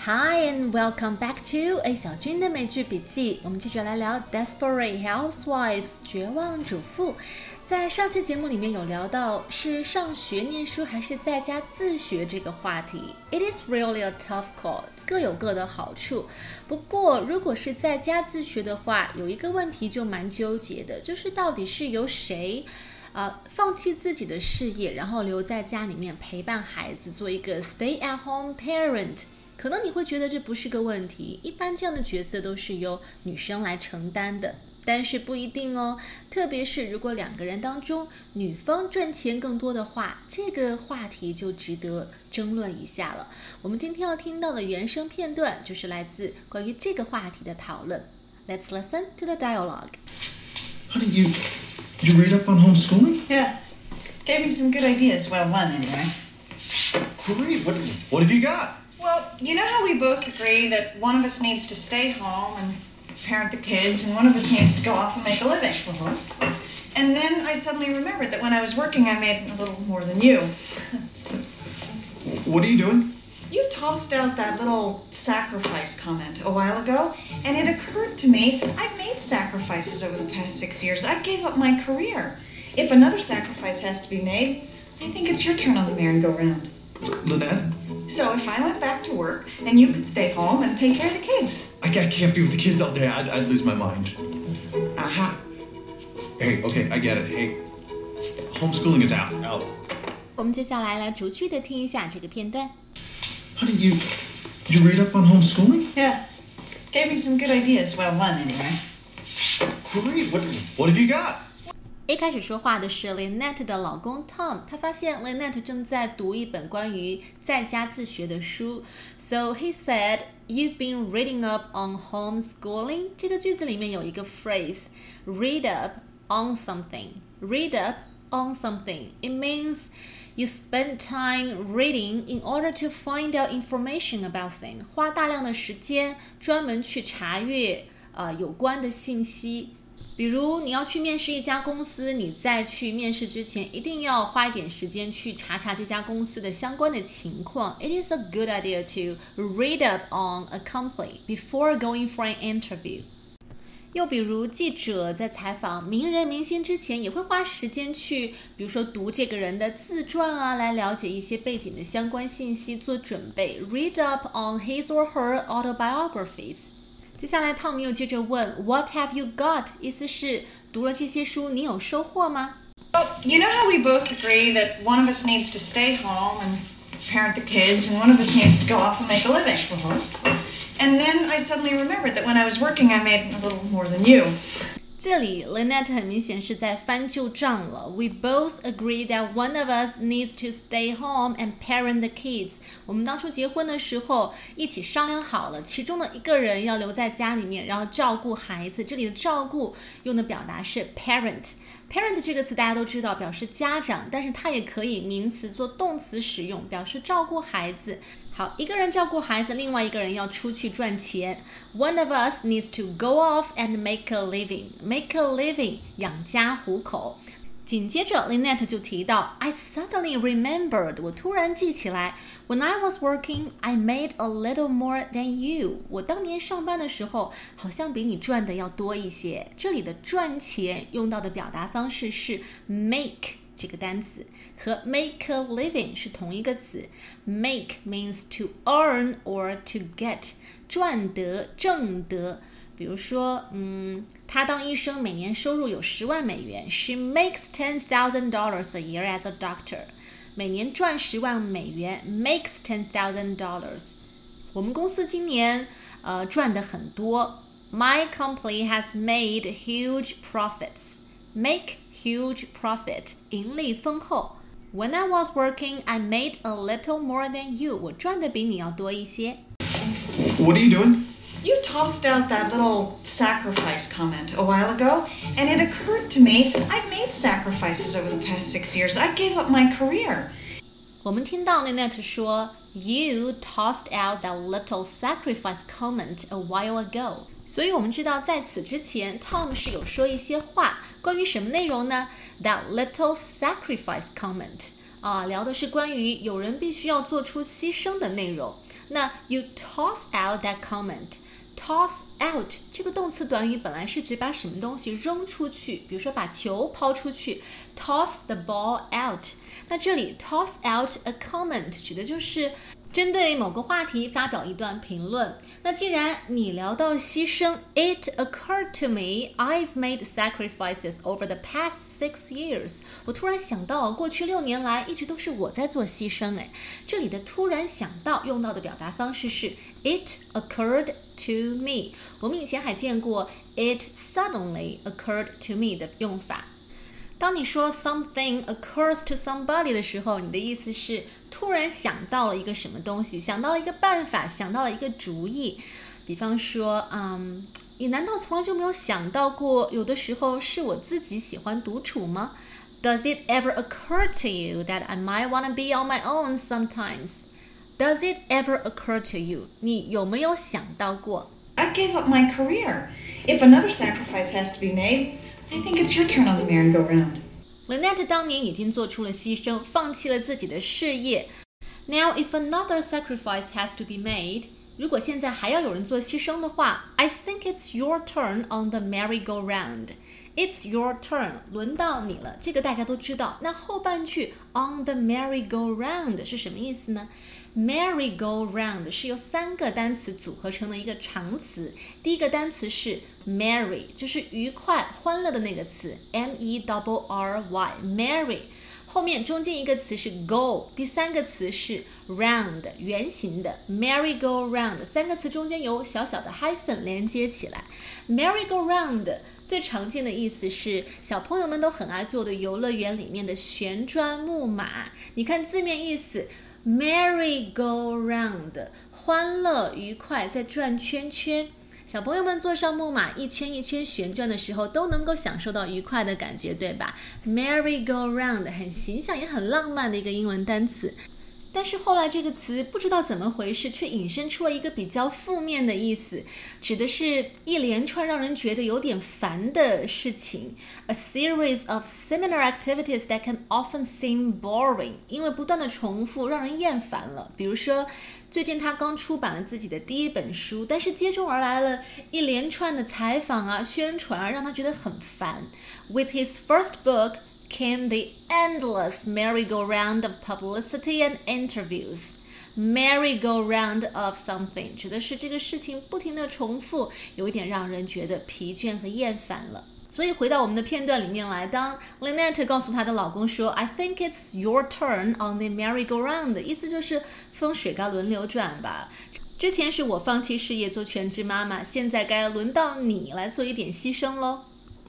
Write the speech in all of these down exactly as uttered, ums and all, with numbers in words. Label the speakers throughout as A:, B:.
A: Hi and welcome back to A 小军的美剧笔记。我们接着来聊 Desperate Housewives 绝望主妇。在上期节目里面有聊到是上学念书还是在家自学这个话题。It is really a tough call， 各有各的好处。不过如果是在家自学的话，有一个问题就蛮纠结的，就是到底是由谁呃，放弃自己的事业，然后留在家里面陪伴孩子，做一个 stay-at-home parent。可能你会觉得这不是个问题，一般这样的角色都是由女生来承担的，但是不一定哦。特别是如果两个人当中女方赚钱更多的话，这个话题就值得争论一下了。我们今天要听到的原声片段就是来自关于这个话题的讨论。Let's listen to the dialogue.
B: Honey, you you read up on homeschooling?
C: Yeah, gave me some good ideas. Well, one anyway.
B: Great. What what have you got?
C: Well, you know how we both agree that one of us needs to stay home and parent the kids, and one of us needs to go off and make a living.
B: Uh-huh.
C: And then I suddenly remembered that when I was working, I made a little more than you.
B: What are you doing?
C: You tossed out that little sacrifice comment a while ago, and it occurred to me I've made sacrifices over the past six years. I gave up my career. If another sacrifice has to be made, I think it's your turn on the merry-go-round.
B: Lynette?
C: So if I went back to work, and you could stay home and take care of the kids.
B: I, I can't be with the kids all day. I'd, I'd lose my mind.
C: Aha.
B: Hey, okay, I get it. Hey, homeschooling is out. Out.
A: 我们接下来来逐句的听一下这个片段。
B: Honey, you you read up on homeschooling?
C: Yeah. Gave me some good ideas. Well, one anyway.
B: Great. What what have you got?
A: 一开始说话的是 Lynette 的老公 Tom， 他发现 Lynette 正在读一本关于在家自学的书。So he said, "You've been reading up on homeschooling." 这个句子里面有一个 phrase, read up on something. Read up on something. It means you spend time reading in order to find out information about things. 花大量的时间专门去查阅呃有关的信息。比如你要去面试一家公司，你在去面试之前一定要花一点时间去查查这家公司的相关的情况。It is a good idea to read up on a company before going for an interview. 又比如记者在采访名人明星之前也会花时间去比如说读这个人的自传啊，来了解一些背景的相关信息做准备。Read up on his or her autobiographies. 接下来汤姆又接着问 What have you got? 意思是读了这些书你有收获吗？
C: Well, you know how we both agree that one of us needs to stay home and parent the kids, and one of us needs to go off and make a living.
B: Uh-huh.
C: And then I suddenly remembered that when I was working, I made a little more than you.
A: 这里 Lynette 很明显是在翻旧账了。We both agree that one of us needs to stay home and parent the kids. 我们当初结婚的时候一起商量好了，其中的一个人要留在家里面，然后照顾孩子。这里的照顾用的表达是 parent。parent 这个词大家都知道表示家长，但是它也可以名词做动词使用，表示照顾孩子。好，一个人照顾孩子，另外一个人要出去赚钱。One of us needs to go off and make a living. Make a living， 养家糊口。紧接着 Lynette 就提到 I suddenly remembered， 我突然记起来 When I was working, I made a little more than you. 我当年上班的时候好像比你赚的要多一些。这里的赚钱用到的表达方式是 make这个单词，和 make a living 是同一个词。 Make means to earn or to get， 赚得挣得。比如说嗯，她当医生每年收入有十万美元。 She makes ten thousand dollars a year as a doctor. 每年赚十万美元 makes ten thousand dollars. 我们公司今年呃赚得很多。 My company has made huge profits. Make huge profit 盈利丰厚。 When I was working, I made a little more than you. 我赚的比你要多一些。
B: What are you doing?
C: You tossed out that little sacrifice comment a while ago, and it occurred to me I've made sacrifices over the past six years. I gave up my career.
A: 我们听到 Lynette 说 You tossed out that little sacrifice comment a while ago. 所以我们知道在此之前 Tom 是有说一些话，关于什么内容呢？ That little sacrifice comment 啊，聊的是关于有人必须要做出牺牲的内容。 那 you toss out that comment。Toss out 这个动词短语本来是指把什么东西扔出去，比如说把球抛出去 toss the ball out。那这里 toss out a comment 指的就是针对某个话题发表一段评论。那既然你聊到牺牲 It occurred to me I've made sacrifices over the past six years。 我突然想到过去六年来一直都是我在做牺牲。诶，这里的突然想到用到的表达方式是 It occurred to me。 我们以前还见过 It suddenly occurred to me 的用法。当你说 something occurs to somebody 的时候，你的意思是突然想到了一个什么东西，想到了一个办法，想到了一个主意。比方说，嗯，你难道从来就没有想到过，有的时候是我自己喜欢独处吗？ Does it ever occur to you that I might want to be on my own sometimes? Does it ever occur to you? 你有没有想到过？
C: I gave up my career. If another sacrifice has to be made, I think it's your turn on the merry-go-round.
A: Lynette 当年已经做出了牺牲，放弃了自己的事业。Now, if another sacrifice has to be made, 如果现在还要有人做牺牲的话 I think it's your turn on the merry-go-round. It's your turn, 轮到你了，这个大家都知道。那后半句 on the merry-go-round 是什么意思呢？ Merry-go-round 是由三个单词组合成的一个长词。第一个单词是 merry， 就是愉快欢乐的那个词 M E R R Y merry。 后面中间一个词是 go， 第三个词是 round 圆形的 merry-go-round， 三个词中间有小小的 hyphen 连接起来。 merry-go-round 最常见的意思是小朋友们都很爱做的游乐园里面的旋转木马。你看字面意思Merry-go-round 欢乐愉快在转圈圈，小朋友们坐上木马一圈一圈旋转的时候都能够享受到愉快的感觉，对吧？ Merry-go-round 很形象也很浪漫的一个英文单词。但是后来这个词不知道怎么回事，却引申出了一个比较负面的意思，指的是一连串让人觉得有点烦的事情。A series of similar activities that can often seem boring， 因为不断的重复让人厌烦了。比如说最近他刚出版了自己的第一本书，但是接踵而来了一连串的采访啊宣传啊，让他觉得很烦。 With his first book came the endless merry-go-round of publicity and interviews. Merry-go-round of something 指的是这个事情不停的重复，有一点让人觉得疲倦和厌烦了。所以回到我们的片段里面来，当 Lynette 告诉她的老公说 I think it's your turn on the merry-go-round， 意思就是风水该轮流转吧。之前是我放弃事业做全职妈妈，现在该轮到你来做一点牺牲咯。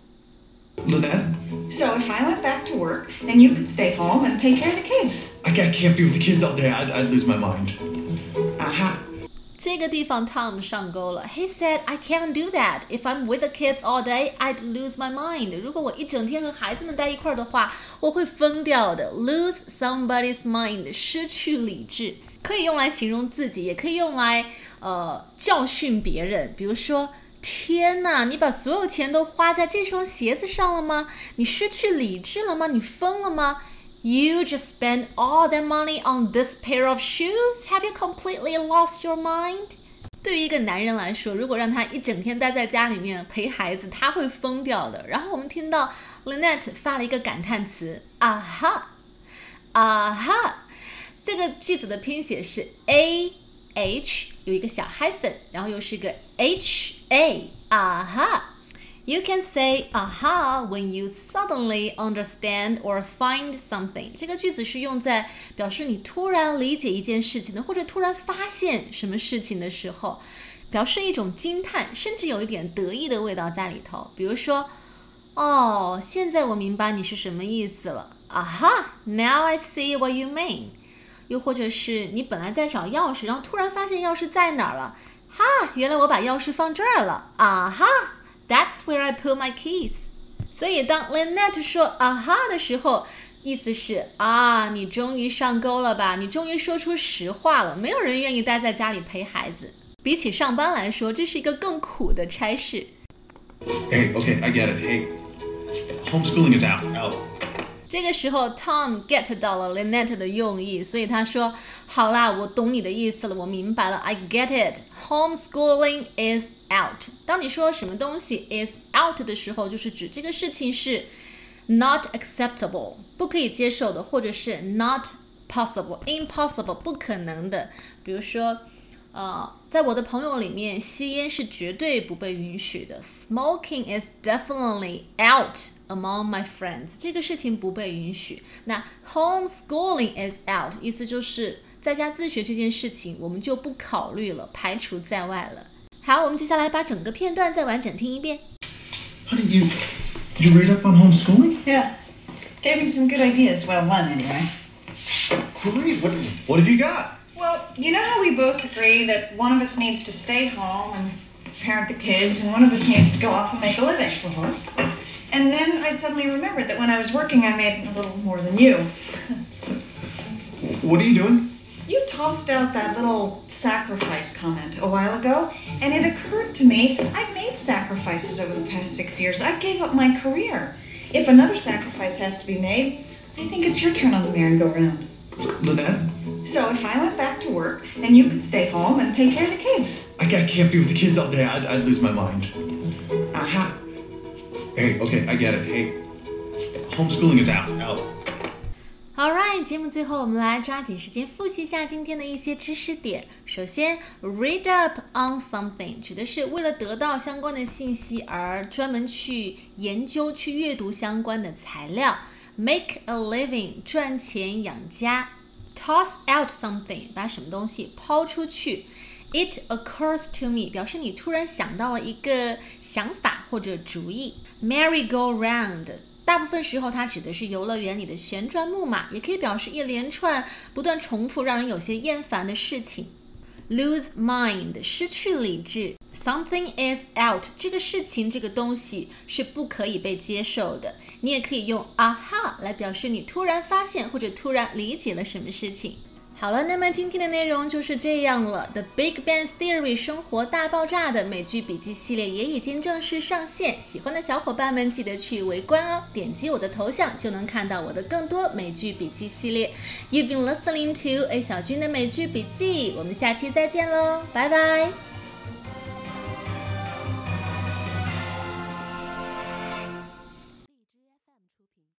B: Lynette?
C: So if I went back to work, then you could stay home and take care of the kids.
B: I can't, can't be with the kids all day. I'd, I'd lose my mind.
C: Aha.
A: 这个地方 Tom 上钩了。 He said, I can't do that. If I'm with the kids all day, I'd lose my mind. 如果我一整天和孩子们待一块儿的话，我会疯掉的。Lose somebody's mind， 失去理智，可以用来形容自己，也可以用来呃教训别人。比如说，天哪，你把所有钱都花在这双鞋子上了吗？你失去理智了吗？你疯了吗？You just spent all that money on this pair of shoes? Have you completely lost your mind? 对于一个男人来说，如果让他一整天待在家里面陪孩子，他会疯掉的。然后我们听到 Lynette 发了一个感叹词，啊哈，啊哈。这个句子的拼写是 A H 有一个小 hyphen， 然后又是一个 H A， 啊哈。You can say aha when you suddenly understand or find something. 这个句子是用在表示你突然理解一件事情的，或者突然发现什么事情的时候，表示一种惊叹，甚至有一点得意的味道在里头。比如说，哦，现在我明白你是什么意思了。Aha, now I see what you mean. 又或者是你本来在找钥匙，然后突然发现钥匙在哪儿了。哈，原来我把钥匙放这儿了。Aha.That's where I put my keys. 所以当 Lynette 说啊哈的时候，意思是啊，你终于上钩了吧？你终于说出实话了。没有人愿意待在家里陪孩子，比起上班来说，这是一个更苦的差事。
B: Hey, okay, I get it. Hey, homeschooling is out. Out.
A: 这个时候 Tom get 到了 Lynette 的用意，所以他说好啦，我懂你的意思了，我明白了 I get it. Homeschooling is out. 当你说什么东西 is out 的时候，就是指这个事情是 not acceptable 不可以接受的，或者是 not possible impossible 不可能的。比如说呃，在我的朋友里面，吸烟是绝对不被允许的。Smoking is definitely out among my friends. 这个事情不被允许。那 homeschooling is out 意思就是在家自学这件事情，我们就不考虑了，排除在外了。好，我们接下来把整个片段再完整听一遍。
B: Honey, you you read up on homeschooling?
C: Yeah. Gave me some good ideas. Well, one anyway.
B: Great. What what have you got?
C: Well, you know how we both agree that one of us needs to stay home and parent the kids, and one of us needs to go off and make a living? Uh-huh. And then I suddenly remembered that when I was working, I made a little more than you.
B: What are you doing?
C: You tossed out that little sacrifice comment a while ago, and it occurred to me I've made sacrifices over the past six years. I gave up my career. If another sacrifice has to be made, I think it's your turn on the merry-go-round.
B: Lynette?
C: So if I went back to work, and you could stay home and take care of the kids.
B: I, I can't be with the kids all day. I'd, I'd lose my mind.
C: Aha.
B: Hey, okay, I get it. Hey, homeschooling is out. Out.
A: Alright， 节目最后我们来抓紧时间复习一下今天的一些知识点。首先 read up on something 指的是为了得到相关的信息而专门去研究去阅读相关的材料。Make a living 赚钱养家。Toss out something 把什么东西抛出去。It occurs to me 表示你突然想到了一个想法或者主意。Merry-go-round大部分时候它指的是游乐园里的旋转木马，也可以表示一连串不断重复让人有些厌烦的事情。Lose mind 失去理智。Something is out 这个事情这个东西是不可以被接受的。你也可以用 aha 来表示你突然发现或者突然理解了什么事情。好了，那么今天的内容就是这样了。The Big Bang Theory 生活大爆炸的美剧笔记系列也已经正式上线，喜欢的小伙伴们记得去围观哦，点击我的头像就能看到我的更多美剧笔记系列。You've been listening to A 小军的美剧笔记，我们下期再见喽，拜拜。